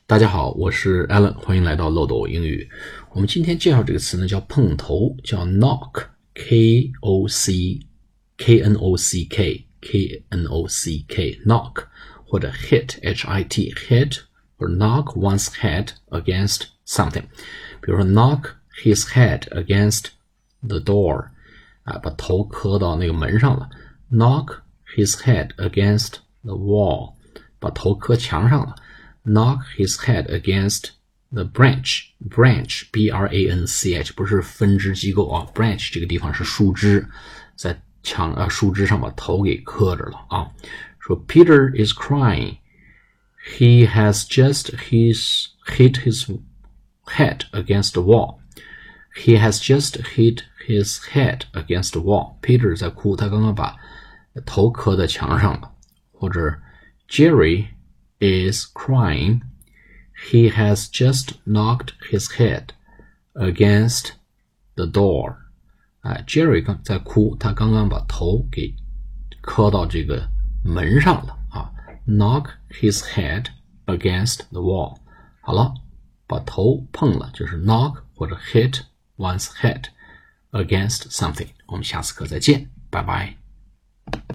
大家好，我是 Alan， 欢迎来到漏斗英语。我们今天介绍这个词呢，叫碰头，叫 knock， K-O-C-K， knock， 或者 hit， H-I-T， hit or knock one's head against something。比如说 knock his head against the door， 把头磕到那个门上了。knock his head against the wall， 把头磕墙上了。knock his head against the branch, B-R-A-N-C-H 不是分支机构啊 branch 这个地方是树枝，在树枝上把头给磕着了啊。说 Peter is crying, he has just hit his head against the wall. He has just hit his head against the wall. Peter 在哭，他刚刚把头磕在墙上了。或者 Jerry is crying, he has just knocked his head against the door. Jerry 在哭，他刚刚把头给磕到这个门上了啊。knock his head against the wall. 好了，把头碰了就是 knock 或者 hit one's head against something. 我们下次课再见，拜拜。